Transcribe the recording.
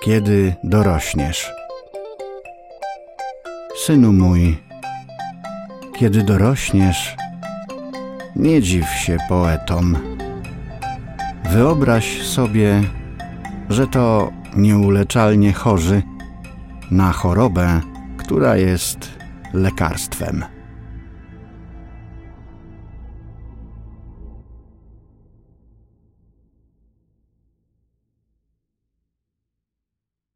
kiedy dorośniesz. Synu mój, kiedy dorośniesz, nie dziw się poetom. Wyobraź sobie, że to nieuleczalnie chorzy na chorobę, która jest lekarstwem.